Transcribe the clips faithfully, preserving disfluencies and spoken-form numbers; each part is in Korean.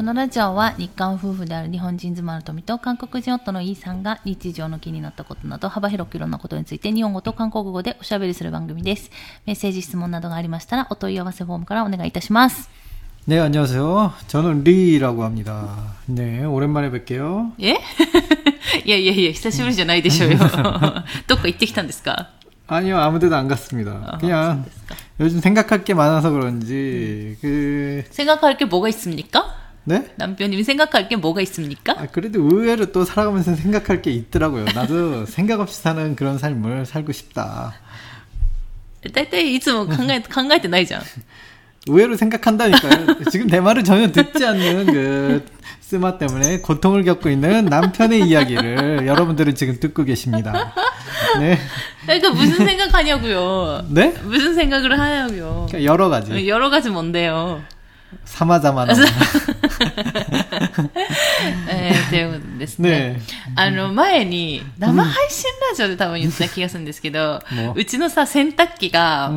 のラジオは日韓夫婦である日本人妻の富と韓国人夫のイさんが日常の気になったことなど幅広くいろんなことについて日本語と韓国語でおしゃべりする番組です。メッセージ質問などがありましたらお問い合わせフォームからお願いいたします。 네, 안녕하세요. 저는 리라고 합니다. 네, 오랜만에 뵐게요. 예? いやいやいや久しぶりじゃないでしょうよ。どっか行ってきたんですか? 아니요, 아무데도 안 갔습니다. 아, 그냥 요즘 생각할 게 많아서 그런지 그 생각할 게 뭐가 있습니까? 네? 남편님이 생각할 게 뭐가 있습니까? 아, 그래도 의외로 또 살아가면서 생각할 게 있더라고요. 나도 생각 없이 사는 그런 삶을 살고 싶다. 大体いつも考え、考えてないじゃん. 의외로 생각한다니까요. 지금 내 말을 전혀 듣지 않는 그 스마 때문에 고통을 겪고 있는 남편의 이야기를 여러분들은 지금 듣고 계십니다. 네. 그러니까 무슨 생각하냐고요. 네? 무슨 생각을 하냐고요. 그러니까 여러 가지. 여러 가지 뭔데요? 사마자마나. えー、ということですね。ねあの前に生配信ラジオで多分言った気がするんですけど、うん、うちのさ洗濯機が、うん、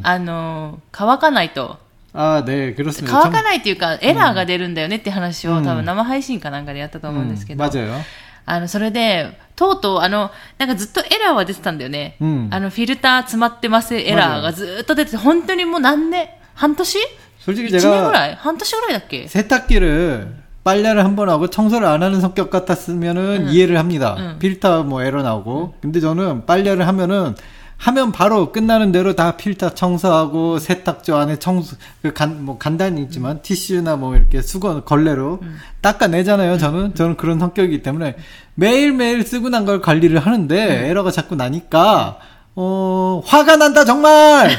あの乾かないと。 あね、乾かないっていうかエラーが出るんだよねって話を、うん、多分生配信かなんかでやったと思うんですけど、うん、あのそれでとうとうあのなんかずっとエラーは出てたんだよね、うん、あのフィルター詰まってますエラーがずっと出てて本当にもう何年半年 솔직히 제가 일 년ぐらい半年ぐらいだっけ 세탁기를 빨래를 한 번 하고 청소를 안 하는 성격 같았으면은 응. 이해를 합니다. 응. 필터 뭐 에러 나오고. 응. 근데 저는 빨래를 하면은 하면 바로 끝나는 대로 다 필터 청소하고 세탁조 안에 청소 그 간 뭐 간단히 있지만 응. 티슈나 뭐 이렇게 수건 걸레로 응. 닦아내잖아요. 저는 응. 저는 그런 성격이기 때문에 매일매일 쓰고 난 걸 관리를 하는데 응. 에러가 자꾸 나니까 어, 화가 난다, 정말!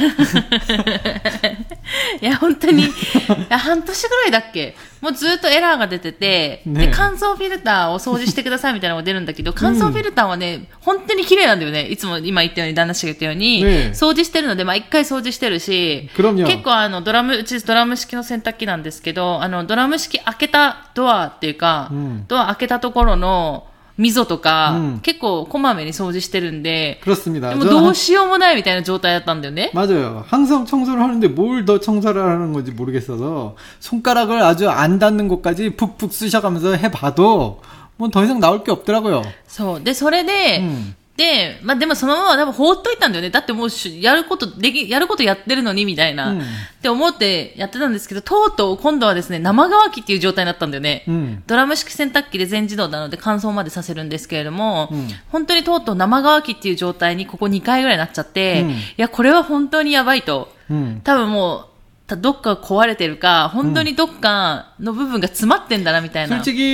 いや、本当に、いや半年ぐらいだっけもうずっとエラーが出てて、ね、で、乾燥フィルターを掃除してくださいみたいなのが出るんだけど、乾燥フィルターはね、うん、本当に綺麗なんだよね。いつも今言ったように、旦那氏が言ったように、ね、掃除してるので、毎回掃除してるし、結構あの、ドラム、うちドラム式の洗濯機なんですけど、あの、ドラム式開けたドアっていうか、うん、ドア開けたところの、溝とか、うん、結構こまめに掃除してるんで、 그렇습니다. でもどうしようもないみたいな状態だったんだよね. 맞아요. 항상 청소를 하는데 뭘 더 청소를 하는 건지 모르겠어서 손가락을 아주 안 닿는 곳까지 푹푹 쑤셔가면서 해봐도 뭐 더 이상 나올 게 없더라고요. そう。で、それで、うんで、まあ、でもそのまま多分放っといたんだよね。だってもうやることでき、やることやってるのにみたいな、うん、って思ってやってたんですけど、とうとう今度はですね、生乾きっていう状態になったんだよね。うん、ドラム式洗濯機で全自動なので乾燥までさせるんですけれども、うん、本当にとうとう生乾きっていう状態にここにかいぐらいになっちゃって、うん、いや、これは本当にやばいと。うん、多分もう、どっか壊れてるか、本当にどっかの部分が詰まってんだなみたいな。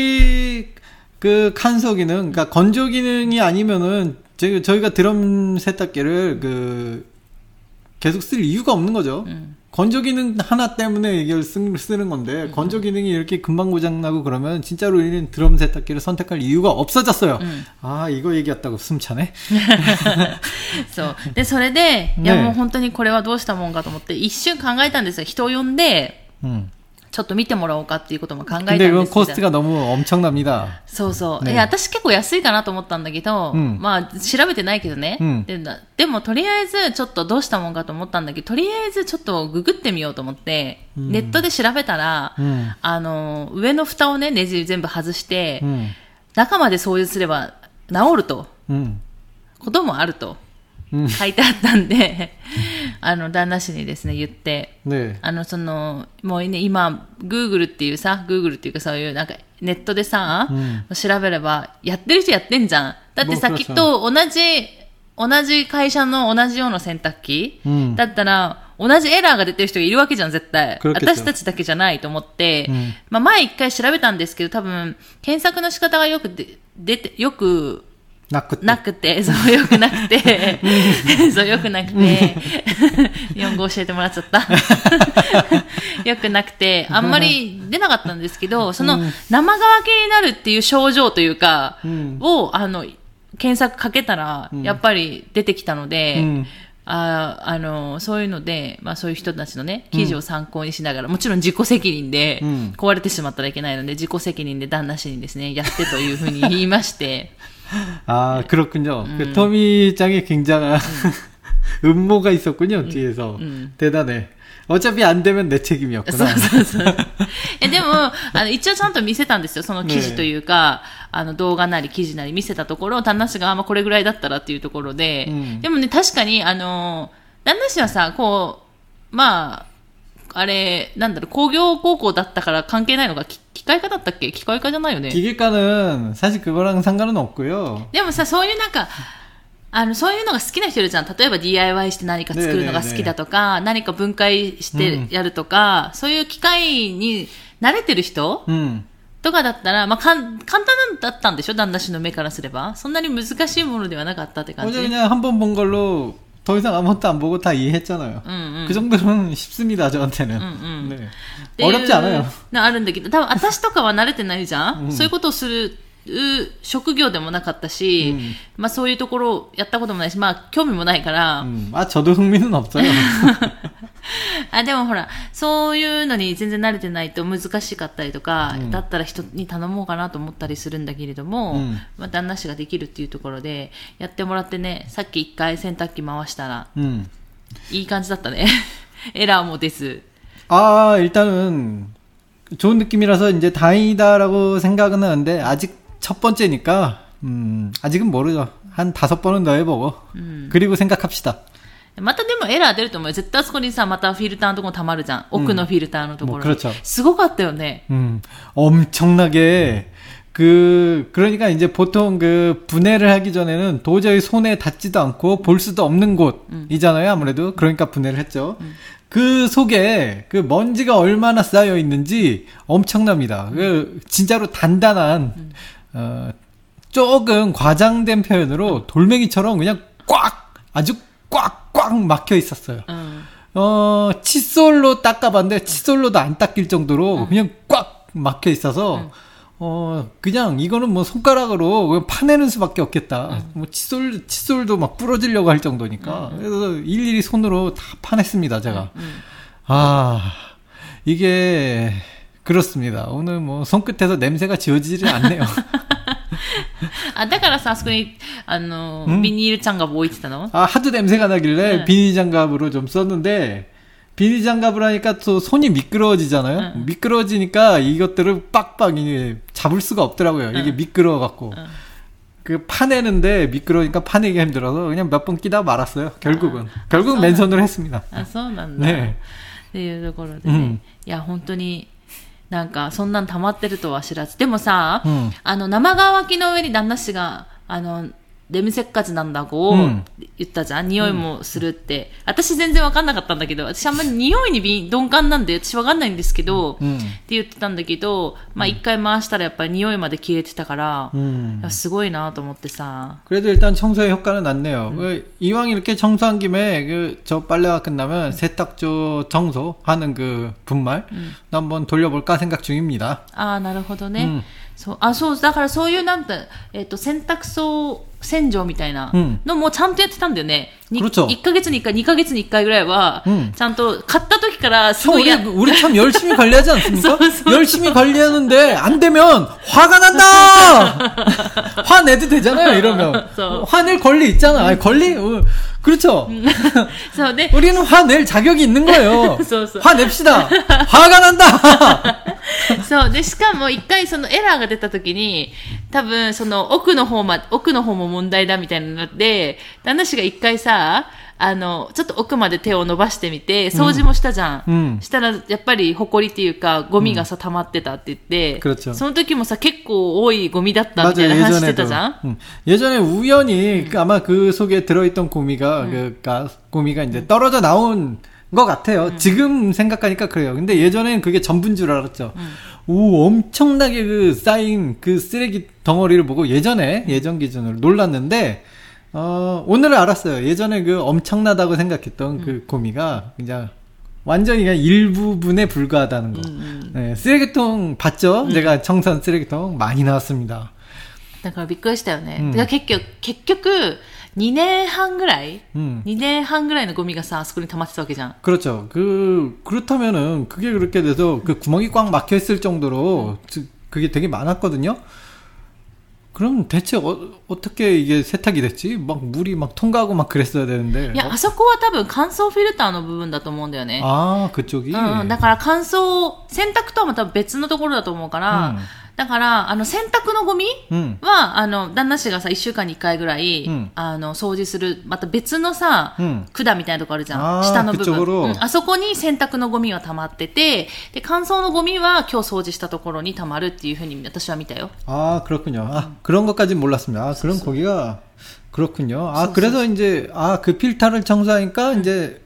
솔직히 그乾燥 기능, 그러니까 건조 기능이 아니면은 저희, 저희가 드럼 세탁기를 그 계속 쓸 이유가 없는 거죠. 음. 건조 기능 하나 때문에 이걸 쓰, 쓰는 건데 음. 건조 기능이 이렇게 금방 고장나고 그러면 진짜로 우리는 드럼 세탁기를 선택할 이유가 없어졌어요. 음. 아, 이거 얘기했다고 숨 차네. そう。で、それで、いやもう本当にこれはどうしたもんかと思って一瞬考えたんですよ。人を呼んで、うんちょっと見てもらおうかっていうことも考えたんですけど。 근데 그건 코스트가 너무 엄청납니다. そうそう。ね、いや、私結構安いかなと思ったんだけど、うん、まあ、調べてないけどね、うん、で。でも、とりあえず、ちょっとどうしたもんかと思ったんだけど、とりあえずちょっとググってみようと思って、うん、ネットで調べたら、うん、あの、上の蓋をね、ネジ全部外して、うん、中まで掃除すれば治ると、うん、こともあると。書いてあったんで、あの、旦那氏にですね、言って、ね、あの、その、もうね、今、Google っていうさ、Google っていうかそういう、なんか、ネットでさ、うん、調べれば、やってる人やってんじゃん。だってさ、きっと同じ、同じ会社の同じような洗濯機、うん、だったら、同じエラーが出てる人がいるわけじゃん、絶対。私たちだけじゃないと思って、うん、まあ、前一回調べたんですけど、多分、検索の仕方がよくで、出て、よく、 なくて。 なくて、そう、よくなくて、そう、よくなくて、日本語教えてもらっちゃった。よくなくて、あんまり出なかったんですけど、その、生乾きになるっていう症状というか、うん、を、あの、検索かけたら、やっぱり出てきたので、うん、ああの、そういうので、まあそういう人たちのね、記事を参考にしながら、うん、もちろん自己責任で、うん、壊れてしまったらいけないので、自己責任で旦那氏にですね、やってというふうに言いまして、 아, 그렇군요. 음. 그 토미짱이 굉장한, 음. 음모가 있었군요, 뒤에서. 음. 대단해. 어차피 안 되면 내 책임이었구나. そうそうそう。え、でも、あの、一応ちゃんと見せたんですよ。その記事というか、ね、あの、動画なり記事なり見せたところ、旦那氏が、まあ、これぐらいだったらっていうところで、うん、でもね、確かに、あの、旦那氏はさ、こう、まあ、あれ、なんだろう、工業高校だったから関係ないのが、機械科だったっけ？機械科じゃないよね。 기계과는사실그거랑상관은없고요。 でもさ、そういうなんか、あの、そういうのが好きな人いるじゃん。例えば ディーアイワイ して何か作るのが好きだとか、何か分解してやるとか、うん、そういう機械に慣れてる人、うん、とかだったら、まあ、かん、簡単だったんでしょ？旦那氏の目からすれば。そんなに難しいものではなかったって感じ。 어제그냥한번본걸로더 이상 아무것도 안 보고 다 이해했잖아요. 음, 음. 그 정도는 쉽습니다, 저한테는. 음, 음. 네. 어렵지 않아요. あるんだけど、多分私とかは慣れてないじゃん、うん、そういうことをする職業でもなかったし、うん、まあそういうところをやったこともないし、まあ興味もないから。 うん、あ、저도 흥미는 없어요. あ、でもほら、そういうのに全然慣れてないと難しかったりとか、うん、だったら人に頼もうかなと思ったりするんだけれども、うん、まあ旦那氏ができるっていうところで、やってもらってね、さっき一回洗濯機回したら、うん、いい感じだったね。エラーもです。 아, 일단은 좋은 느낌이라서 이제 다행이다라고 생각은 하는데 아직 첫 번째니까 음, 아직은 모르죠. 한 다섯 번은 더 해보고 음. 그리고 생각합시다. またでもエラー出ると思うよ。絶対そこにさ、またフィルターのところ溜まるじゃん。奥のフィルターのところに。 뭐 すごかったよね。 음, 엄청나게 그 그러니까 이제 보통 그 분해를 하기 전에는 도저히 손에 닿지도 않고 볼 수도 없는 곳이잖아요. 아무래도 그러니까 분해를 했죠. 음. 그 속에 그 먼지가 얼마나 쌓여 있는지 엄청납니다. 음. 그 진짜로 단단한 음. 어, 조금 과장된 표현으로 돌멩이처럼 그냥 꽉 아주 꽉꽉 막혀 있었어요. 음. 어 칫솔로 닦아봤는데 칫솔로도 안 닦일 정도로 음. 그냥 꽉 막혀 있어서 음. 어 그냥 이거는 뭐 손가락으로 그냥 파내는 수밖에 없겠다. 음. 뭐 칫솔 칫솔도 막 부러지려고 할 정도니까 음. 그래서 일일이 손으로 다 파냈습니다 제가. 음. 음. 아 이게 그렇습니다. 오늘 뭐 손끝에서 냄새가 지워지지 않네요. あ、だからさ、あそこに、あの、ビニール장갑置いてたの? 아, 하도 냄새가 나길래 응. 비닐 장갑으로 좀 썼는데, 비닐 장갑을 하니까 또 손이 미끄러워지잖아요? 응. 미끄러워지니까 이것들을 빡빡 잡을 수가 없더라고요. 응. 이게 미끄러워갖고. 응. 그 파내는데 미끄러우니까 파내기가 힘들어서 그냥 몇 번 끼다 말았어요. 결국은. 아, 결국은 아, 맨손으로 했습니다. 아, そうなんだ. 네. っていうところでね。うん、いや、本当に、なんか、そんなん溜まってるとは知らず。でもさ、うん、あの、生乾きの上に旦那氏が、あの、レムせっかちなんだこう、うん、言ったじゃん。匂いもするって、うん。私全然わかんなかったんだけど、私あんまり匂いに敏感なんで、私わかんないんですけど、うん、って言ってたんだけど、まあ一回回したらやっぱり匂いまで消えてたから、うん、すごいなと思ってさ。 그래도 일단 청소의 효과는 났네요. 음. 이왕 이렇게 청소한 김에 그 저 빨래가 끝나면 세탁조 청소하는 그 분말 음. 한번 돌려볼까 생각 중입니다. 아, なるほどね。 음. そう、あ、そう、だからそういうなんて、えっと、洗濯槽洗浄みたいなのもちゃんとやってたんだよね。いっかげつにいっかい、にかげつにいっかいぐらいは、ちゃんと買った時からすごいや。 우리, 우리 참 열심히 관리하지 않습니까? 열심히 관리하는데 안 되면 화가 난다! 화내도 되잖아요, 이러면. 화낼 권리 있잖아. 아니, 권리? 어, 그렇죠. 우리는 화낼 자격이 있는 거예요. 화냅시다. 화가 난다! そう。で、しかも一回そのエラーが出た時に、多分その奥の方ま、奥の方も問題だみたいになって、旦那氏が一回さ、あの、ちょっと奥まで手を伸ばしてみて、掃除もしたじゃん。うん、したら、やっぱり埃っていうか、ゴミがさ、溜まってたって言って、うん、その時もさ、結構多いゴミだったみたいな話してたじゃん。 음. 예전에 우연히 음. 아마 그 속에 들어있던 고미가, 음. 그, 가, 고미가 이제 떨어져 나온 것 같아요. 음. 지금 생각하니까 그래요. 근데 예전엔 그게 전부인 줄 알았죠. 음. 오, 엄청나게 그 쌓인 그 쓰레기 덩어리를 보고 예전에, 예전 기준으로 놀랐는데, 어, 오늘은 알았어요. 예전에 그 엄청나다고 생각했던 음. 그 고미가 그냥 완전히 그냥 일부분에 불과하다는 거. 음. 네, 쓰레기통 봤죠? 음. 제가 청소한 쓰레기통 많이 나왔습니다. だからびっくりしたよね。だから結局、結局、にねんはんぐらい、음. にねんはんぐらいのゴミがさ、あそこに溜まってたわけじゃん。 그렇죠. 그, 그렇다면은, 그게 그렇게 돼서, 그 구멍이 꽉 막혀 있을 정도로, 음. 그게 되게 많았거든요? 그럼 대체 어, 어떻게 이게 세탁이 됐지? 막 물이 막 통과하고 막 그랬어야 되는데. いや、あそこは多分乾燥フィルターの部分だと思うんだよね。 아, 그쪽이? うん、だから乾燥、洗濯とはまた別のところだと思うから、うん、だから、あの、洗濯のゴミは、うん、あの、旦那氏がさ、一週間に一回ぐらい、うん、あの、掃除する、また別のさ、うん、管みたいなとこあるじゃん。下の部分、うん。あそこに洗濯のゴミは溜まってて、で、乾燥のゴミは今日掃除したところに溜まるっていうふうに私は見たよ。 아, 그렇군요. 아, 음. 그런 것까진 몰랐습니다. 아, 그럼 거기가, 그렇군요. 아, 그래서 이제, 아, 그 필터를 청소하니까 음. 이제,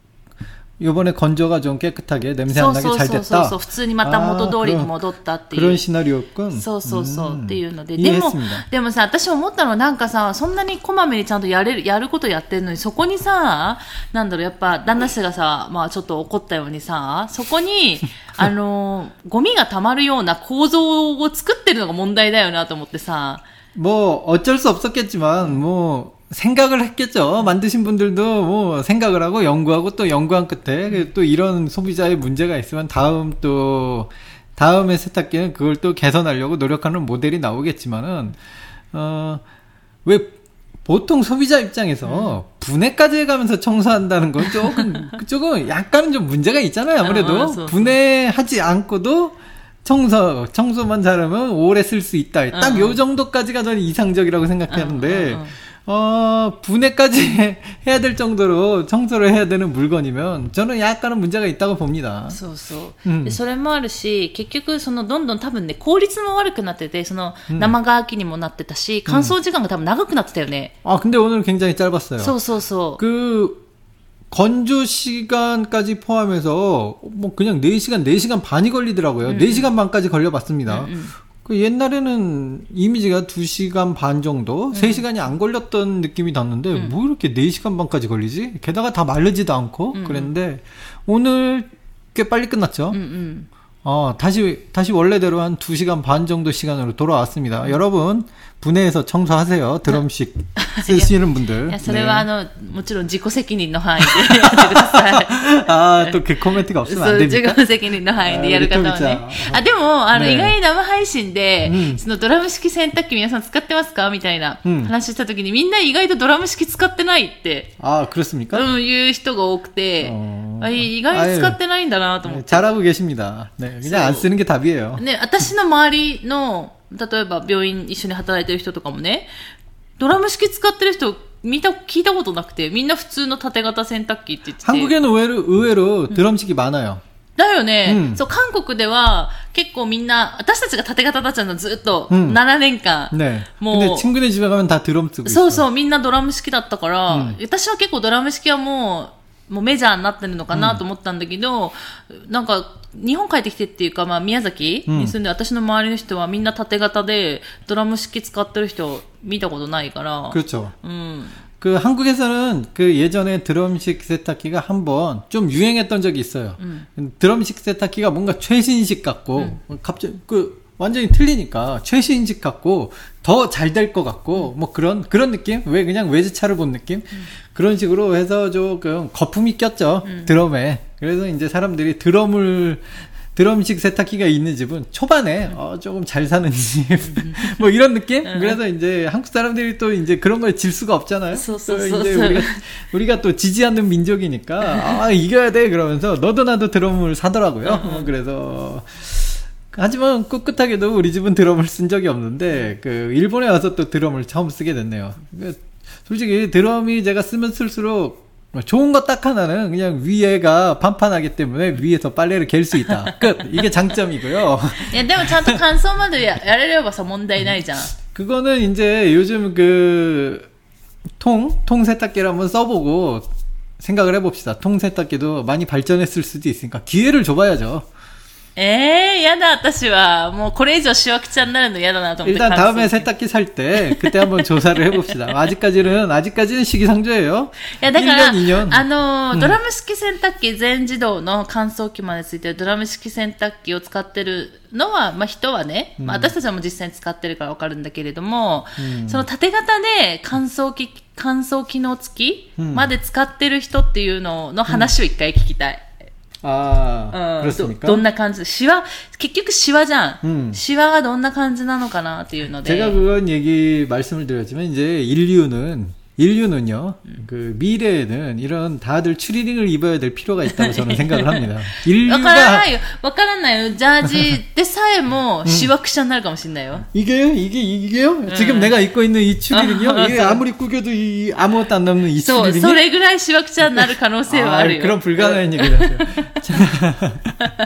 요번에 건조가 좀 깨끗하게 냄새 안 나게 잘 됐다. そうそうそうそう。普通にまた元通りに戻ったっていう。 그런 시나리오였군. そうそうそう。っていうので。でも、でもさ、私思ったのはなんかさ、そんなにこまめにちゃんとやれる、やることやってるのに、そこにさ、なんだろう、やっぱ旦那氏がさ、まあちょっと怒ったようにさ、そこに、あの、ゴミが溜まるような構造を作ってるのが問題だよなと思ってさ。 뭐, 어쩔 수 없었겠지만, 뭐, 생각을 했겠죠. 만드신 분들도 뭐 생각을 하고 연구하고 또 연구한 끝에 또 이런 소비자의 문제가 있으면 다음 또 다음의 세탁기는 그걸 또 개선하려고 노력하는 모델이 나오겠지만은 어 왜 보통 소비자 입장에서 분해까지 해가면서 청소한다는 건 조금 조금 약간은 좀 문제가 있잖아요. 아무래도 분해하지 않고도 청소, 청소만 잘하면 오래 쓸 수 있다. 딱 요 정도까지가 저는 이상적이라고 생각하는데 어, 분해까지 해야 될 정도로 청소를 해야 되는 물건이면 저는 약간은 문제가 있다고 봅니다. そうそう。で、それもあるし、結局そのどんどん多分ね、効率も悪くなってて、その生乾きにもなってたし、乾燥時間が多分長くなってたよね。 아, 근데 오늘 굉장히 짧았어요. そうそうそう。 그 건조 시간까지 포함해서 뭐 그냥 네 시간, 네 시간 반이 걸리더라고요. 음. 네 시간 반까지 걸려봤습니다. 음, 음. 그 옛날에는 이미지가 두 시간 반 정도, 음. 세 시간이 안 걸렸던 느낌이 났는데, 음. 뭐 이렇게 네 시간 반까지 걸리지? 게다가 다 마르지도 않고, 음. 그랬는데, 오늘 꽤 빨리 끝났죠? 음, 음. 어, 다시, 다시 원래대로 한 두 시간 반 정도 시간으로 돌아왔습니다. 음. 여러분, 분해해서 청소하세요. 드럼식 쓰시는 분들. いや、それはあの、もちろん自己責任の範囲でやってください。 あー、と、그コメントが없으면 안 됩니까? 自己責任の範囲でやる方はね。あ、でも、あの、意外に生配信で、そのドラム式洗濯機皆さん使ってますかみたいな話した時に、みんな意外とドラム式使ってないって。 あ、그렇습니까? うん、言う人が多くて、あ、意外に使ってないんだなと思って。 잘하고 계십니다. 네, 그냥 안 쓰는 게 답이에요. ね、私の周りの、例えば病院一緒に働いてる人とかもね、ドラム式使ってる人見た聞いたことなくて、みんな普通の縦型洗濯機って言ってて。 한국에는 의외로, 의외로 드럼식이 많아요. だよね、うん、そう、韓国では結構みんな、私たちが縦型だったのずっとななねんかん、 うん、ね、もう。근데 친구네 집에 가면 다 드럼 쓰고 있어. そうそう、みんなドラム式だったから、うん、私は結構ドラム式はもう、もうメジャーになってるのかなと思ったんだけど、うん、なんか、日本帰ってきてっていうか、まあ、宮崎に住んで、私の周りの人はみんな縦型でドラム式使ってる人見たことないから。 그렇죠. 음. 그 한국에서는 그 예전에 드럼식 세탁기가 한번 좀 유행했던 적이 있어요. 음. 드럼식 세탁기가 뭔가 최신식 같고 음. 갑자기 그 완전히 틀리니까 최신식 같고 더 잘 될 것 같고 음. 뭐 그런 그런 느낌? 왜 그냥 외제차를 본 느낌? 음. 그런 식으로 해서 조금 거품이 꼈죠. 음. 드럼에. 그래서 이제 사람들이 드럼을 드럼식 세탁기가 있는 집은 초반에 음. 어, 조금 잘 사는 집 뭐 이런 느낌? 음. 그래서 이제 한국 사람들이 또 이제 그런 거에 질 수가 없잖아요. 또 이제 우리가, 우리가 또 지지 않는 민족이니까 아 이겨야 돼 그러면서 너도 나도 드럼을 사더라고요. 음. 그래서 하지만 꿋꿋하게도 우리 집은 드럼을 쓴 적이 없는데 그 일본에 와서 또 드럼을 처음 쓰게 됐네요. 솔직히 드럼이 제가 쓰면 쓸수록 좋은 거 딱 하나는 그냥 위에가 판판하기 때문에 위에서 빨래를 갤 수 있다. 끝. 이게 장점이고요. 야, でもちゃんと乾燥までやれればさ問題ないじゃん. 그거는 이제 요즘 그 통, 통 세탁기를 한번 써보고 생각을 해봅시다. 통 세탁기도 많이 발전했을 수도 있으니까 기회를 줘봐야죠. ええー、やだ、私は。もうこれ以上しわくちゃになるのやだなと思って。 일단 다음에 세탁기 살 때 그때 한번 조사를 해봅시다. 아직까지는 아직까지는 시기상조예요. いやだから、いちねんにねん。あの、ドラム式洗濯機全自動の乾燥機までついてるドラム式洗濯機を使ってるのは、まあ人はね、まあ私たちはもう実際に使ってるからわかるんだけれども、うん、その縦型で乾燥機、乾燥機能付きまで使ってる人っていうのの話を一回聞きたい。 ああ、うん、ど, どんな感じシワ結局シワじゃん、うん、シワがどんな感じなのかなっていうので 제가 그건 얘기 말씀을 드렸지만 이제 인류는 인류는요, 음. 그 미래에는 이런 다들 추리닝을 입어야 될 필요가 있다고 저는 생각을 합니다. 인류가 わからないよ、わからないよ。ジャージでさえもシワくしゃになるかもしれないよ。 이게요, 이게 이게요? 음. 지금 내가 입고 있는 이 추리닝이요, 이게 아무리 구겨도 이 아무것도 안 남는 이 추리닝이. それぐらいシワくしゃになる可能性はあるよ。 그런 불가능한 얘기를 하세요.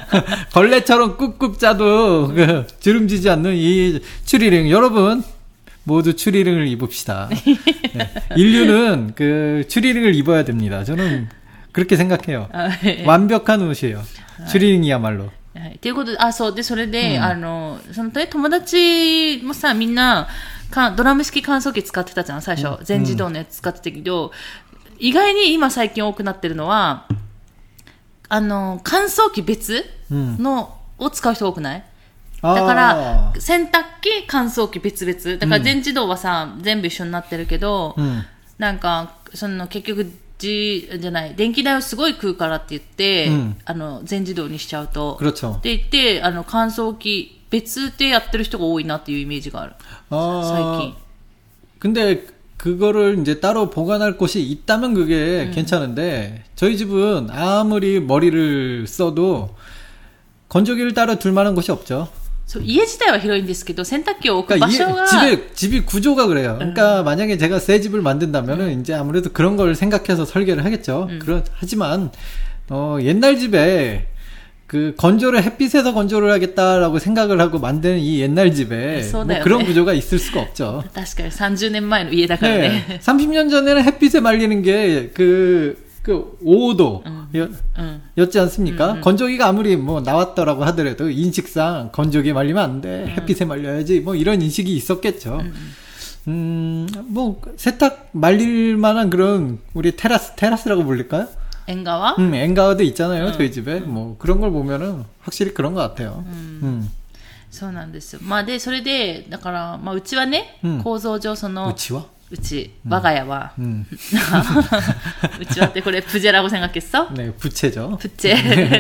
걸레처럼 꾹꾹 짜도 그 주름지지 않는 이 추리닝, 여러분. 모두 추리닝을 입읍시다. 네. 인류는 그 추리닝을 입어야 됩니다. 저는 그렇게 생각해요. 완벽한 옷이에요. 추리닝이야말로. ということで、あ、そうで、それで、うん、あの、その友達もさ、みんなかドラム式乾燥機使ってたじゃん、最初、全自動のやつ使ってたけど、うん、意外に今最近多くなってるのは、あの乾燥機別の、うん、を使う人多くない？だから洗濯機乾燥機別々だから全自動はさ、うん、全部一緒になってるけど、うん、なんかその結局じじゃない電気代をすごい食うからって言って、うん、あの全自動にしちゃうとって言ってあの乾燥機別でやってる人が多いなっていうイメージがある最近。 근데 그거를 이제 따로 보관할 곳이 있다면 그게 음. 괜찮은데 저희 집은 아무리 머리를 써도 건조기를 따로 둘 만한 곳이 없죠. そう家自体は広いんですけど洗濯機を置く場所が 집에 집이 구조가 그래요. 그러니까 음. 만약에 제가 새 집을 만든다면은 음. 이제 아무래도 그런 걸 생각해서 설계를 하겠죠. 음. 그런 하지만 어 옛날 집에 그 건조를 햇빛에서 건조를 하겠다라고 생각을 하고 만든 이 옛날 집에 뭐 그런 구조가 있을 수가 없죠. 確かに삼십年前の家だからね. 네, 삼십 년 전에는 햇빛에 말리는 게 그 그 오 도 음, 여, 음. 였지 않습니까? 음, 음. 건조기가 아무리 뭐 나왔더라고 하더라도 인식상 건조기에 말리면 안 돼. 음. 햇빛에 말려야지. 뭐 이런 인식이 있었겠죠. 음, 음, 뭐 세탁 말릴 만한 그런 우리 테라스 테라스라고 불릴까요? 엔가와? 음, 엔가와도 있잖아요. 음. 저희 집에. 음. 뭐 그런 걸 보면은 확실히 그런 것 같아요. 음. 음. そうなんですよ。まあでそれでだからまあうちはね、うん、構造上そのうちはうち、我が家は、うん、うちはってこれプジェラ고 생각했어? 네, 부채죠. 부채.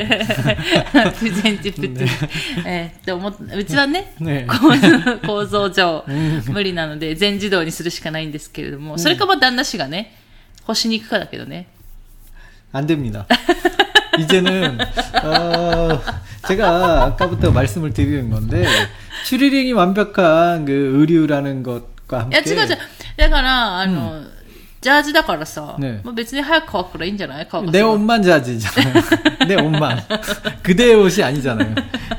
부채인지 부채. 네, って思っうちはね、ね構造上無理なので全自動にするしかないんですけれども、それかも旦那氏がね、干しに行くかだけどね。 안 됩니다. 이제는 어, 제가 아까부터 말씀을 드리는 건데 추리닝이 완벽한 그 의류라는 것과 함께. いや違う違う。だからあの、うん、ジャージだからさ、ね、もう別に早く乾くからいいんじゃない？乾かす。 내 옷만 자지잖아요. 내 옷만. 그대의 옷이 아니잖아요.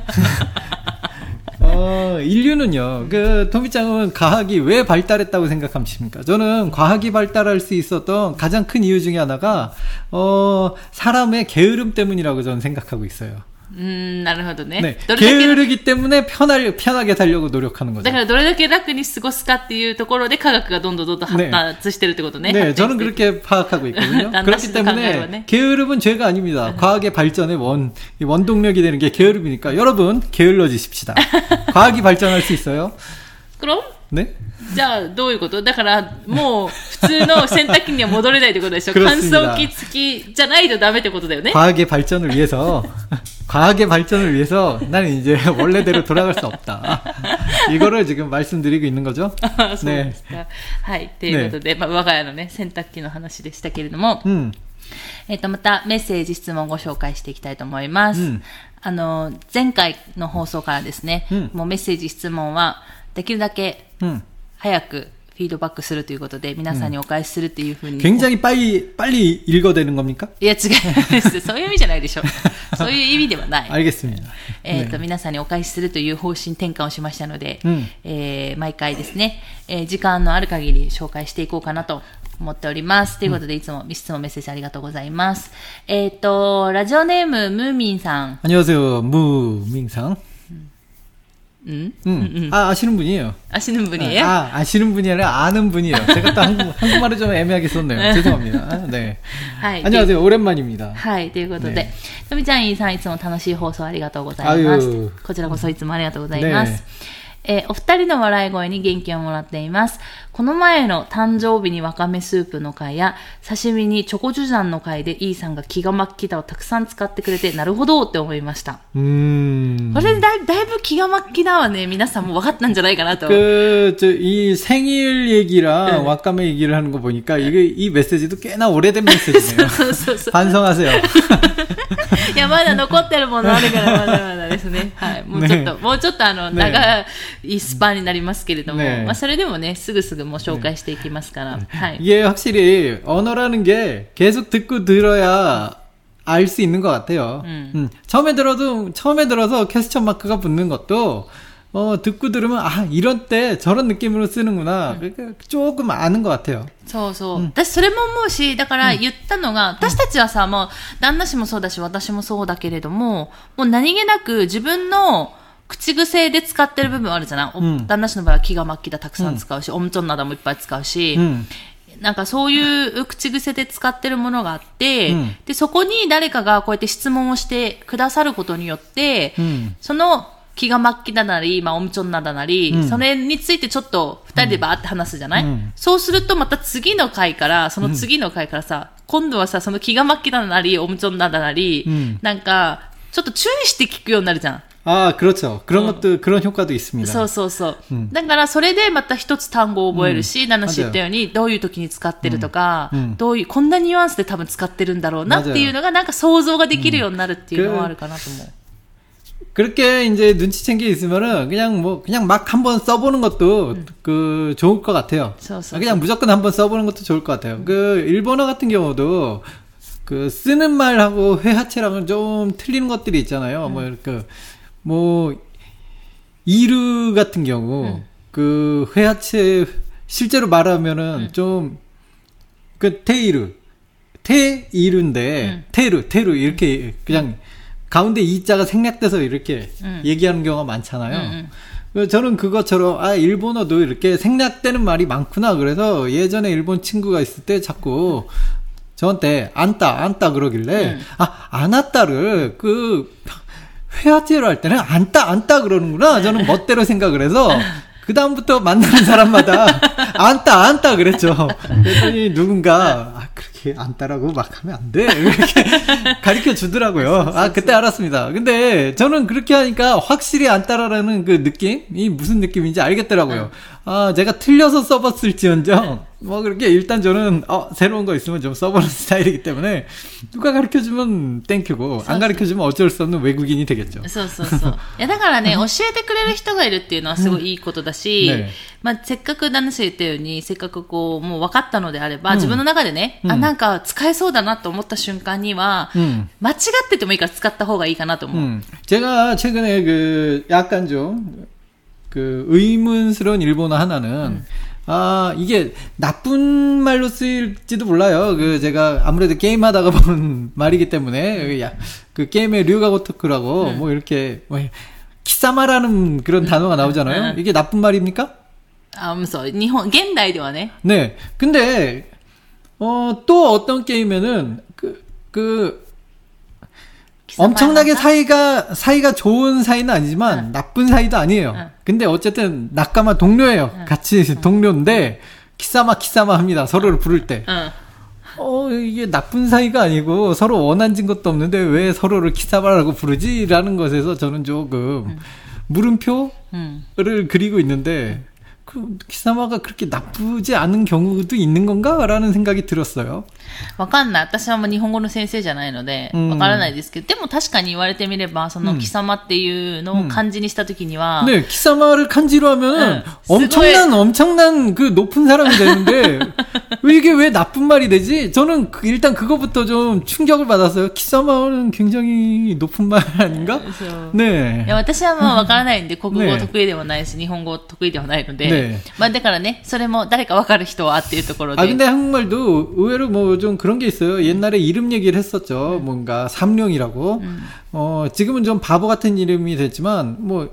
어, 인류는요, 그, 토미짱은 과학이 왜 발달했다고 생각하십니까? 저는 과학이 발달할 수 있었던 가장 큰 이유 중에 하나가, 어, 사람의 게으름 때문이라고 저는 생각하고 있어요. 음, なるほどね. 네. 게으르기 때문에 편하게, 편하게 살려고 노력하는 거죠. だからどれだけ楽に過ごすかっていうところで科学がどんどんどんどん発達してるってことね. 네, 저는 그렇게 파악하고 있거든요. 그렇기 때문에 게으름은 죄가 아닙니다. 과학의 발전의 원, 원동력이 되는 게 게으름이니까 여러분 게을러지십시다. 과학이 발전할 수 있어요. 그럼? 네? じゃあどういうこと？だからもう普通の洗濯機には戻れないってことでしょ。乾燥機付きじゃないとダメってことだよね。 과학의 발전을 위해서 과학의 발전을 위해서 나는 이제 원래대로 돌아갈 수 없다. 이거를 지금 말씀드리고 있는 거죠. 네. はい。ということで、まあ我が家のね洗濯機の話でしたけれども、うん、えっとまたメッセージ質問をご紹介していきたいと思います。うん、あの前回の放送からですね、うん、もうメッセージ質問はできるだけ早くフィードバックするということで皆さんにお返しするっていうふうに。 굉장히 빨리 빨리 읽어대는 겁니까? いや違います。そういう意味じゃないでしょ。そういう意味ではない。 알겠습니다. えっと皆さんにお返しするという方針転換をしましたので、うん、えー、毎回ですね、えー、時間のある限り紹介していこうかなと思っております。ということで、いつも質問メッセージありがとうございます。えっとラジオネームムーミンさん。 안녕하세요, 무민さん。 응? 응. 응. 아, 아시는 분이에요. 아시는 분이에요? 아, 아시는 분이 아니라 아는 분이에요. 제가 또 한국, 한국말을 좀 애매하게 썼네요. 죄송합니다. 네. 안녕하세요. 오랜만입니다. はい、ということで、とみちゃんさんいつも楽しい放送ありがとうございます。こちらこそいつもありがとうございます。 えー、お二人の笑い声に元気をもらっています。この前の誕生日にわかめスープの回や刺身にチョコジュジャンの回でイーさんが気が巻きだをたくさん使ってくれてなるほどって思いました。 うーん。 これだい、だいぶ気が巻きだはね皆さんも分かったんじゃないかなと。 그 저 이 생일 얘기랑 네. 와카메 얘기를 하는 거 보니까 이게 이 메시지도 꽤나 오래된 메시지네요. 반성하세요. いやまだ残ってるものあるからまだまだですね。はい。もうちょっと、ね、もうちょっとあの、ね、長いスパンになりますけれども、ね、まあそれでもねすぐすぐもう紹介していきますから。ね、はい。 이게 확실히 언어라는 게 계속 듣고 들어야 알 수 있는 것 같아요. 음. 음. 처음에 들어도 처음에 들어서 퀘스천 마크가 붙는 것도 어, 듣고 들으면, 아, 이런 때 저런 느낌으로 쓰는구나. 그러니까 조금 아는 것 같아요. そうそう。私、それも思うし、だから言ったのが、私たちはさ、もう、旦那氏もそうだし、私もそうだけれども、もう何気なく自分の口癖で使ってる部分あるじゃない、うん、旦那氏の場合は気が巻きだたくさん使うし、オムチョンなどもいっぱい使うし、うん、なんかそういう口癖で使ってるものがあって、うん、で、そこに誰かがこうやって質問をしてくださることによって、うん、その、気が巻きだなり、まあ、オムチョンなだなり、うん、それについてちょっと二人でバーって話すじゃない、うん、そうするとまた次の回から、その次の回からさ、うん、今度はさ、その気が巻きだなり、オムチョンなだなり、うん、なんか、ちょっと注意して聞くようになるじゃん。 ああ、그렇죠。그런 것도、그런 효과도 있습니다。 そうそうそう。うん、だからそれでまた一つ単語を覚えるし、ナナ氏言ったように、どういう時に使ってるとか、うんうん、どういう、こんなニュアンスで多分使ってるんだろうなっていうのが、なんか想像ができるようになるっていうのはあるかなと思う。 그렇게 이제 눈치챈 게 있으면은 그냥 뭐 그냥 막 한번 써보는 것도 음. 그 좋을 것 같아요. 저, 저, 그냥 저. 무조건 한번 써보는 것도 좋을 것 같아요. 음. 그 일본어 같은 경우도 그 쓰는 말하고 회화체랑은 좀 틀리는 것들이 있잖아요. 음. 뭐 이렇게 뭐 이루 같은 경우 음. 그 회화체 실제로 말하면은 음. 좀 그 테이루 테이루인데 음. 테루 테루 이렇게 그냥 가운데 이자가 생략돼서 이렇게 음. 얘기하는 경우가 많잖아요. 음, 음. 저는 그것처럼 아 일본어도 이렇게 생략되는 말이 많구나. 그래서 예전에 일본 친구가 있을 때 자꾸 저한테 안따 안따 그러길래 음. 아 안았다를 그 회화제로 할 때는 안따 안따 그러는구나. 저는 멋대로 생각을 해서 그 다음부터 만나는 사람마다 안따 안따 그랬죠. 그랬더니 누군가 아, 그렇게 안따라고 막 하면 안 돼. 이렇게 가르쳐 주더라고요. 아 그때 알았습니다. 근데 저는 그렇게 하니까 확실히 안따라라는 그 느낌이 무슨 느낌인지 알겠더라고요. 아 제가 틀려서 써봤을지언정 뭐 그렇게 일단 저는 어 새로운 거 있으면 좀 써보는 스타일이기 때문에 누가 가르쳐주면 땡큐고 안 가르쳐주면 어쩔 수 없는 외국인이 되겠죠. そうそうそう。いやだからね教えてくれる人がいるっていうのはすごいいいことだし、ね、まあせっかく旦那氏言ったようにせっかくこうもう分かったのであれば、うん、自分の中でね、うん、あなんか使えそうだなと思った瞬間には、うん、間違っててもいいから使った方がいいかなと思う。 음. 제가 최근에 그 약간 좀 그 의문스러운 일본어 하나는 음. 아 이게 나쁜 말로 쓰일지도 몰라요. 그 제가 아무래도 게임하다가 본 말이기 때문에 야, 그 게임의 류가고토크라고 음. 뭐 이렇게 뭐 키사마라는 그런 음. 단어가 나오잖아요. 음. 이게 나쁜 말입니까? 아, 무서. 일본 현대화네. 네. 근데 어, 또 어떤 게임에는 그 그 엄청나게 사이가 사이가 좋은 사이는 아니지만 응. 나쁜 사이도 아니에요. 응. 근데 어쨌든 낙가마 동료예요. 응. 같이 응. 동료인데 키사마 키사마 합니다. 서로를 부를 때. 응. 어 이게 나쁜 사이가 아니고 서로 원한진 것도 없는데 왜 서로를 키사마라고 부르지라는 것에서 저는 조금 응. 물음표를 응. 그리고 있는데 그 키사마가 그렇게 나쁘지 않은 경우도 있는 건가라는 생각이 들었어요. わかんない。私はもう日本語の先生じゃないのでわからないですけど、でも確かに言われてみればその貴様っていうのを漢字にしたときには、 네貴様를漢字로 하면은 엄청난 엄청난 그 높은 사람이 되는데 왜 이게 왜 나쁜 말이 되지? 저는 그 일단 그거부터 좀 충격을 받았어요. 키사마는 굉장히 높은 말 아닌가? 네. いや私はもうわからないんで国語得意でもないし日本語得意ではないので、 네. まあだからねそれも誰かわかる人はっていうところで。 아 근데 한국말도 의외로 뭐 좀 그런 게 있어요. 옛날에 이름 얘기를 했었죠. 음. 뭔가 삼룡이라고. 음. 어 지금은 좀 바보 같은 이름이 됐지만 뭐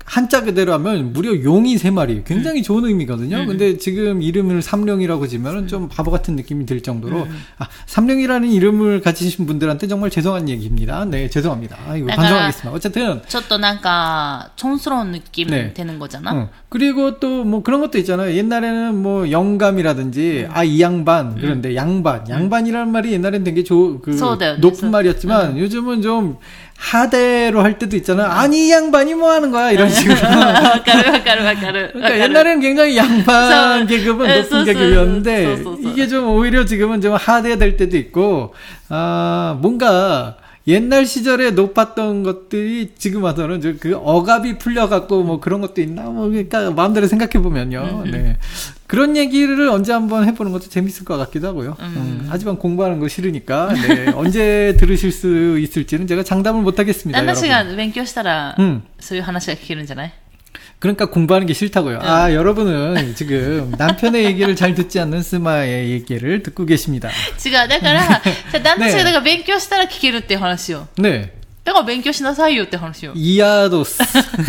한자 그대로 하면 무려 용이 세 마리. 굉장히 음. 좋은 의미거든요. 음. 근데 지금 이름을 삼룡이라고 지면은 좀 바보 같은 느낌이 들 정도로, 음. 아, 삼룡이라는 이름을 가지신 분들한테 정말 죄송한 얘기입니다. 네, 죄송합니다. 아, 이거 반성하겠습니다. 어쨌든. ちょっとなんか, 촌스러운 느낌 네. 되는 거잖아. 응. 그리고 또 뭐 그런 것도 있잖아요. 옛날에는 뭐 영감이라든지, 음. 아, 이 양반. 그런데 음. 양반. 양반이라는 말이 옛날엔 되게 조, 그, 높은 말이었지만, 음. 요즘은 좀, 하대로 할 때도 있잖아. 아니, 이 양반이 뭐 하는 거야? 이런 식으로. 그러니까 옛날에는 굉장히 양반 계급은 높은 계급이었는데, 이게 좀 오히려 지금은 좀 하대될 때도 있고, 아, 뭔가, 옛날 시절에 높았던 것들이 지금 와서는 그 억압이 풀려갖고 뭐 그런 것도 있나? 뭐, 그러니까 마음대로 생각해보면요. 네. 그런 얘기를 언제 한번 해보는 것도 재밌을 것 같기도 하고요. 음. 음, 하지만 공부하는 거 싫으니까, 네. 언제 들으실 수 있을지는 제가 장담을 못하겠습니다. 난 씨가勉強したら, 음. そういう話が聞けるんじゃない? 그러니까 공부하는 게 싫다고요. 응. 아, 여러분은 지금 남편의 얘기를 잘 듣지 않는 스마의 얘기를 듣고 계십니다. 違う。だから、旦那氏がだから勉強したら聞けるっていう話よ。 ね。 だから勉強しなさいよって話よ。 いやどす。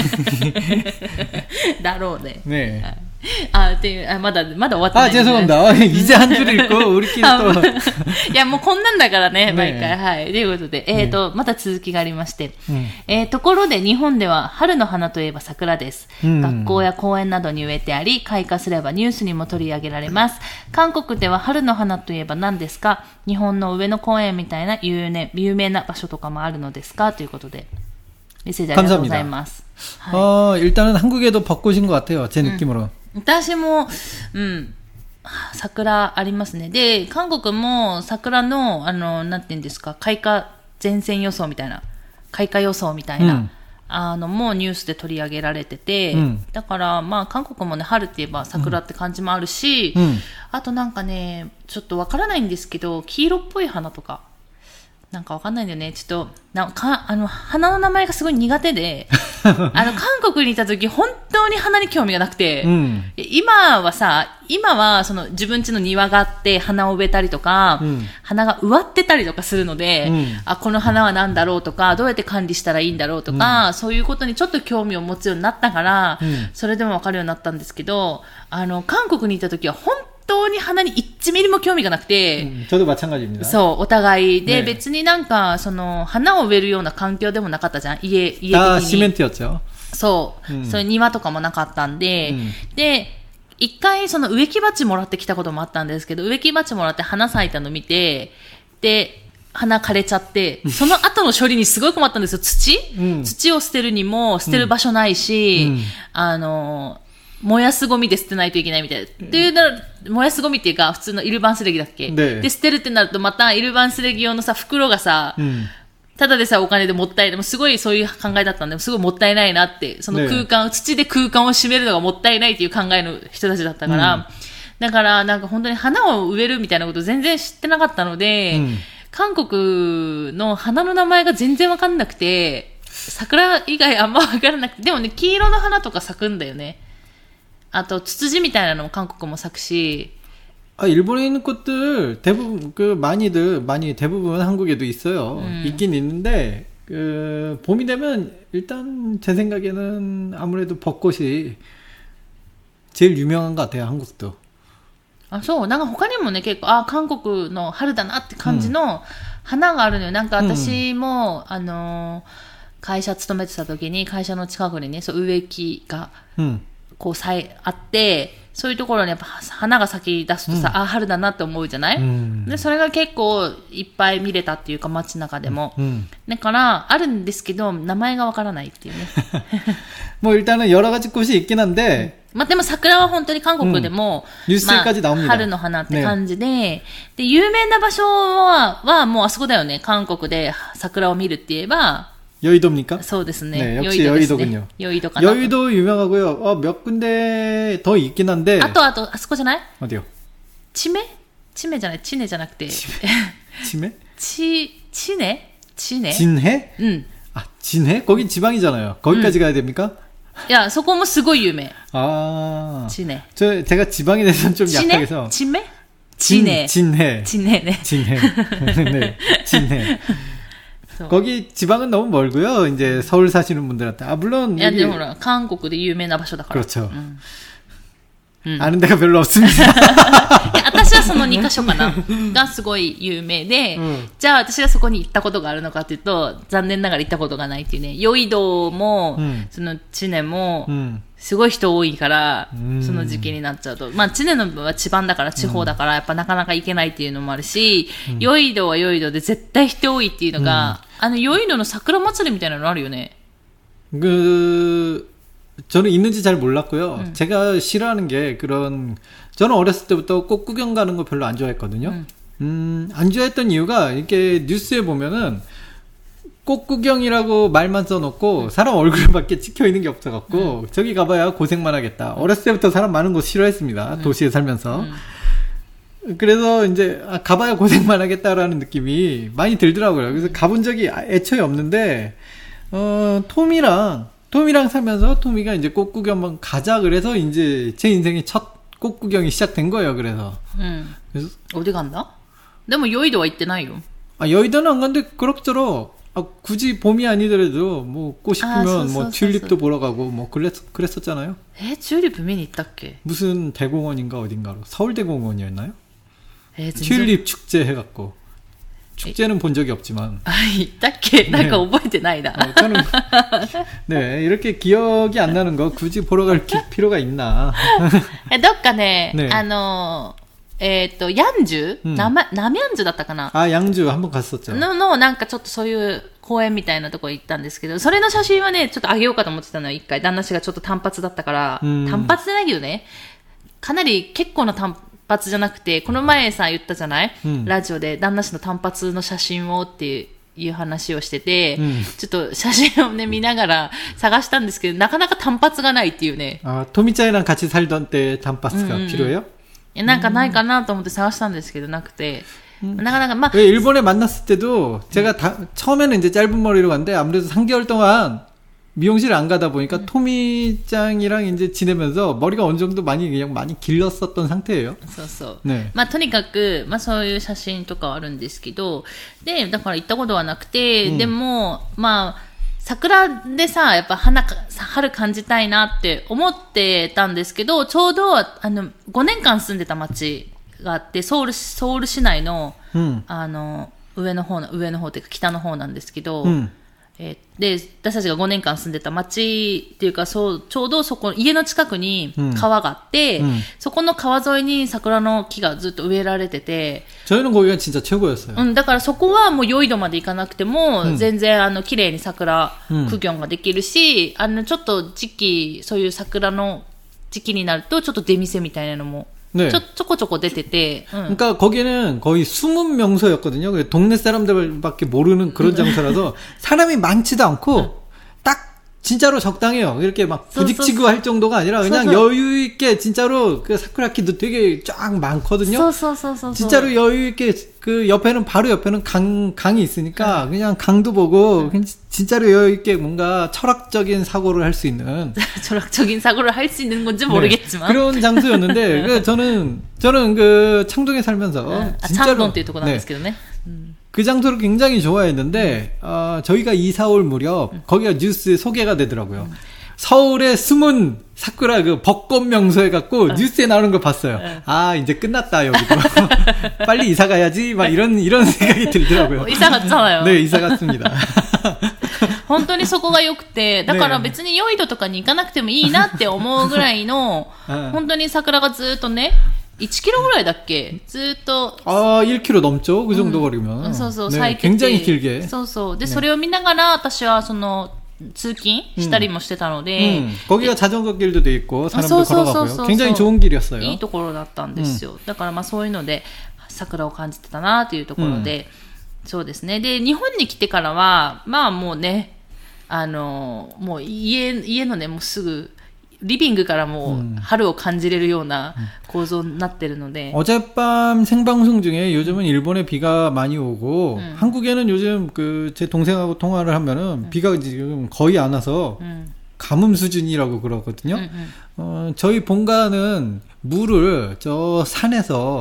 だろうね。 ねえ。 あ、っていう、あ、まだ、まだ終わってない、ね。 あ、죄송합니다. 이제 한 줄 읽고, 우리끼리 또. いや、もうこんなんだからね、毎回。はい。ということで、えっと、また続きがありまして。えー、ところで日本では春の花といえば桜です。学校や公園などに植えてあり、開花すればニュースにも取り上げられます。韓国では春の花といえば何ですか？日本の上野公園みたいな有名、有名な場所とかもあるのですか？ということで。メッセージありがとうございます。 어, 일단은 한국에도 벚꽃인 것 같아요. 제 느낌으로. 음. 私も、うん、桜ありますね。で、韓国も桜の、あの、なんて言うんですか、開花前線予想みたいな、開花予想みたいな、うん、あの、もうニュースで取り上げられてて、うん、だから、まあ、韓国もね、春って言えば桜って感じもあるし、うん、あとなんかね、ちょっとわからないんですけど、黄色っぽい花とか、なんかわかんないんだよね。ちょっと、なんか、あの、花の名前がすごい苦手で、あの、韓国にいた時、本当に花に興味がなくて、うん、今はさ、今は、その、自分家の庭があって、花を植えたりとか、うん、花が植わってたりとかするので、うん、あ、この花は何だろうとか、どうやって管理したらいいんだろうとか、うん、そういうことにちょっと興味を持つようになったから、うん、それでもわかるようになったんですけど、あの、韓国にいた時は、本本当に花にいちミリも興味がなくて、 うん、ちょうど마찬가지입니다。 そう、お互いで、ね、別になんかその花を植えるような環境でもなかったじゃん、家家的に。 あ、シメント였죠。 そう、うん、そういう庭とかもなかったんで、うん、で一回その植木鉢もらってきたこともあったんですけど、植木鉢もらって花咲いたの見て、で花枯れちゃって、その後の処理にすごい困ったんですよ。土、うん、土を捨てるにも捨てる場所ないし、うん、あの燃やすゴミで捨てないといけないみたいな。っていうなら、燃やすゴミっていうか、普通のイルバンスレギだっけ？で、で捨てるってなると、またイルバンスレギ用のさ、袋がさ、うん、ただでさ、お金でもったいない。すごいそういう考えだったんで、すごいもったいないなって、その空間、土で空間を占めるのがもったいないっていう考えの人たちだったから、うん、だからなんか本当に花を植えるみたいなこと全然知ってなかったので、うん、韓国の花の名前が全然わかんなくて、桜以外あんまわからなくて、でもね、黄色の花とか咲くんだよね。あと、ツツジみたいなのも韓国も咲くし。 아, 일본에 있는 꽃들 대부분 그 많이들 많이 대부분 한국에도 있어요. 음. 있긴 있는데 그 봄이 되면 일단 제 생각에는 아무래도 벚꽃이 제일 유명한 것 같아요. 한국도. あ、そう。なんか他にもね、結構、あ、韓国の春だなって感じの花があるのよ。なんか私も、うん、あの、会社勤めてた時に会社の近くにね、そう植木が、うんこうさえあって、そういうところにやっぱ花が咲き出すとさ、うん、あ、春だなって思うじゃない、うん、で、それが結構いっぱい見れたっていうか街中でも。うん、だから、あるんですけど、名前がわからないっていうね。 もう일단은 여러 가지 꽃이 있긴 한데、 まあ、でも桜は本当に韓国でも、 うんまあ、 春の花って感じで、ね、で、有名な場所は、はもうあそこだよね。韓国で桜を見るって言えば、 여의도입니까? そうですね。 네, 역시 여의도군요. 여의도 여의도 유명하고요. 어, 몇 군데 더 있긴 한데. あとあとあそこじゃない? 어디요? 치매? 치매 じゃない. 치네 じゃなくて. 치매? 치 치네? 치네? 진해? 응. 아, 진해? 거긴 지방이잖아요. 거기까지 응. 가야 됩니까? 야, そこもすごい有名. 아. 치네. 저 제가 지방에 대해서는 좀 치네? 약하게서. 치매? 진해. 진해. 진해네. 진해. 네. 진해. 거기 지방은 너무 멀고요. 이제 서울 사시는 분들한테. 아, 물론. いや、でもほら、韓国で有名な場所だから。 그렇죠. 음. 음. 아는 데가 별로 없습니다. 私はそのにカ所かながすごい有名で、うん、じゃあ私がそこに行ったことがあるのかというと、残念ながら行ったことがないっていうね。ヨイドも、うん、そのチネも、うん、すごい人多いから、うん、その時期になっちゃうと。まあチネの部は地盤だから地方だから、やっぱなかなか行けないっていうのもあるし、うん、ヨイドはヨイドで絶対人多いっていうのが、うん、あのヨイドの桜祭りみたいなのあるよね。 그 저는 있는지 잘 몰랐고요. 음. 제가 싫어하는 게 그런 저는 어렸을 때부터 꽃 구경 가는 거 별로 안 좋아했거든요. 음, 음 안 좋아했던 이유가 이렇게 뉴스에 보면은 꽃 구경이라고 말만 써놓고 음. 사람 얼굴밖에 찍혀 있는 게 없어갖고 음. 저기 가봐야 고생만 하겠다. 어렸을 때부터 사람 많은 곳 싫어했습니다. 음. 도시에 살면서. 음. 그래서 이제 아, 가봐야 고생만 하겠다라는 느낌이 많이 들더라고요. 그래서 가본 적이 애초에 없는데 어, 톰이랑 톰이랑 살면서 톰이가 이제 꽃 구경 한번 가자 그래서 이제 제 인생의 첫 꽃 구경이 시작된 거예요. 그래서. 음. 그래서 어디 간다? 근데 뭐 여의도와 있대 나요. 아 여의도는 안 간데 그럭저럭 아, 굳이 봄이 아니더라도 뭐 꽃이 피면 아, 뭐 튤립도 보러 가고 뭐 그랬 그랬었잖아요. 에 튤립 봄이 있다께? 무슨 대공원인가 어딘가로 서울대공원이었나요? 에 튤립 축제 해갖고. 축제는 본 적이 없지만. 아, 있다께? 네. 난覚えてないな. 어, 저는, 네, 이렇게 기억이 안 나는 거 굳이 보러 갈 기, 필요가 있나. どっかね、 네. あの、えっと、ヤンジュ、うん、なま、ナミャンジュだったかな 아, 양주 한번 갔었죠. の、の、なんかちょっとそういう公園みたいなとこ行ったんですけど、それの写真はね、ちょっとあげようかと思ってたのよ、一回。旦那氏がちょっと単発だったから、単発じゃないけどね、かなり結構な単発、単発じゃなくて、この前さ言ったじゃない、うん、ラジオで旦那氏の単発の写真をっていう話をしてて、うん、ちょっと写真をね見ながら探したんですけど、なかなか単発がないっていうね。 あ、토미짱이랑 같이 살던 때単発が필요해요? いやなんかないかなと思って探したんですけどなくて、음.なかなかまあ 일본에 만났을 때도 제가 다, 처음에는 이제 짧은 머리로 갔는데 아무래도 삼 개월 동안 미용실 안 가다 보니까 음. 토미짱이랑 이제 지내면서 머리가 어느 정도 많이 그냥 많이 길렀었던 상태예요. そうそう。ね。まあとにかくまあそういう写真とかはあるんですけど、でだから行ったことはなくて、うん、でもまあ桜でさやっぱ花春感じたいなって思ってたんですけど、ちょうどあのごねんかん住んでた町があってソウルソウル市内の、うん、あの上の方の上の方っていうか北の方なんですけど。うんえー、で私たちがごねんかん住んでた町っていうかそうちょうどそこ家の近くに川があって、うん、そこの川沿いに桜の木がずっと植えられてて、 저희는 거기가 진짜 최고였어요. うん、だからそこはもうヨイドまで行かなくても、うん、全然あの綺麗に桜苦行ができるし、うん、あのちょっと時期そういう桜の時期になるとちょっと出店みたいなのも 네. 저, 쪼꼬쪼꼬 데테테. 응. 그러니까 거기는 거의 숨은 명소였거든요. 동네 사람들밖에 모르는 그런 장소라서 사람이 많지도 않고 응. 딱 진짜로 적당해요. 이렇게 막 부딪히고 할 정도가 아니라 그냥 여유 있게 진짜로 그 사쿠라키도 되게 쫙 많거든요. 진짜로 여유 있게 그 옆에는 바로 옆에는 강 강이 있으니까 그냥 강도 보고 그냥 진짜로 여유 있게 뭔가 철학적인 사고를 할 수 있는 철학적인 사고를 할 수 있는 건지 모르겠지만 네, 그런 장소였는데 그 저는 저는 그 창동에 살면서 아, 진짜로 네. 그 장소를 굉장히 좋아했는데 음. 어, 저희가 이사 올 무렵 음. 거기가 뉴스에 소개가 되더라고요. 음. 서울의 숨은 사쿠라 그 벚꽃 명소 해갖고 어. 뉴스에 나오는 걸 봤어요. 어. 아 이제 끝났다 여기도. 빨리 이사 가야지 막 이런 이런 생각이 들더라고요. 어, 이사 갔잖아요. 네 이사 갔습니다. 本当にそこが良くて、だから別にヨイドとかに行かなくてもいいなって思うぐらいの、本当に桜がずっとね、いちキロぐらいだっけずっと。 ああ、いちキロ넘죠 그 정도 거리면。うん、 そうそう、 咲いてて。굉장히 길게。 そうそう。で、それを見ながら私はその、通勤したりもしてたので。 うん。거기가 자전거 길도 돼 있고 사람도 걸어가고요。굉장히 좋은 길이었어요。 いいところだったんですよ。だからまあそういうので、桜を感じてたなというところで、そうですね。で、日本に来てからは、まあもうね、あの、もう家、家のね、もうすぐ、リビングからもう春を感じれるような構造になってるので。 어젯밤 생방송 중에 요즘은 일본에 비가 많이 오고 음. 한국에는 요즘 그 제 동생하고 통화를 하면은 음. 비가 지금 거의 안 와서 음. 가뭄 수준이라고 그러거든요. 음, 음. 어, 저희 본가는 물을 저 산에서 음.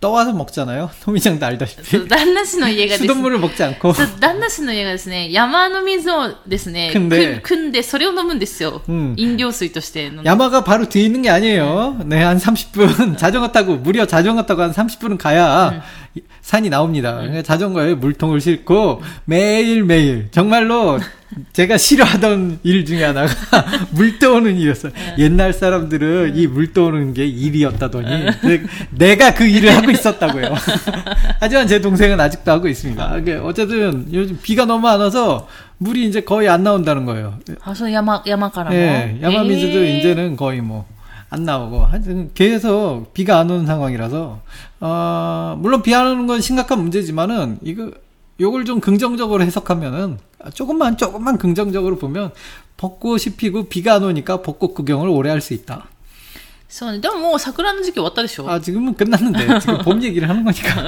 떠와서 먹잖아요. 토미짱도 알다시피. 旦那氏の家がですね、 수돗물을 먹지 않고. 旦那氏の家がですね、山の水をですね、汲んでそれを飲むんですよ。 음. 飲料水として。 야마가 바로 뒤에 있는 게 아니에요. 네, 한 삼십 분 자전거 타고 무려 자전거 타고 한 삼십 분은 가야 음. 산이 나옵니다. 음. 자전거에 물통을 싣고 매일매일 정말로 제가 싫어하던 일 중에 하나가 물 떠오는 일이었어요. 네. 옛날 사람들은 이 물 떠오는 게 일이었다더니 네. 내가 그 일을 하고 있었다고요. 하지만 제 동생은 아직도 하고 있습니다. 어쨌든 요즘 비가 너무 안 와서 물이 이제 거의 안 나온다는 거예요. 아, 저 야마 야마가라. 네, 야마미즈도 이제는 거의 뭐 안 나오고 하여튼 계속 비가 안 오는 상황이라서 어, 물론 비 안 오는 건 심각한 문제지만은 이거 요걸 좀 긍정적으로 해석하면은 조금만 조금만 긍정적으로 보면 벚꽃이 피고 비가 안 오니까 벚꽃 구경을 오래 할 수 있다. そうね。でももう桜の時期終わったでしょ? 아, 지금은 끝났는데 지금 봄 얘기를 하는 거니까.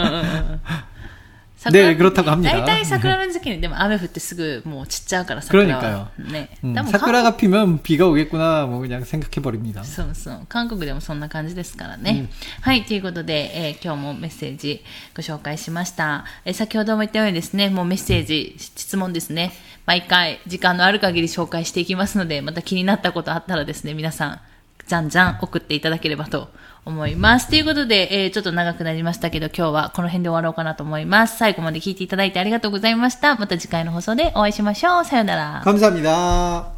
네, 그렇다고 합니다. 大体桜の時期にでも雨降ってすぐもう散っちゃうから桜は。 그러니까요. 네. 음, 사쿠라가 피면 비가 오겠구나 뭐 그냥 생각해 버립니다. そうそう。韓国でもそんな感じですからね。はい、ということで、えー、今日もメッセージご紹介しました。えー、先ほども言ったようにですね、もうメッセージ、質問ですね。毎回時間のある限り紹介していきますので、また気になったことあったらですね、皆さんじゃんじゃん送っていただければと思います。ということで、えー、ちょっと長くなりましたけど、今日はこの辺で終わろうかなと思います。最後まで聞いていただいてありがとうございました。また次回の放送でお会いしましょう。さよなら。 감사합니다。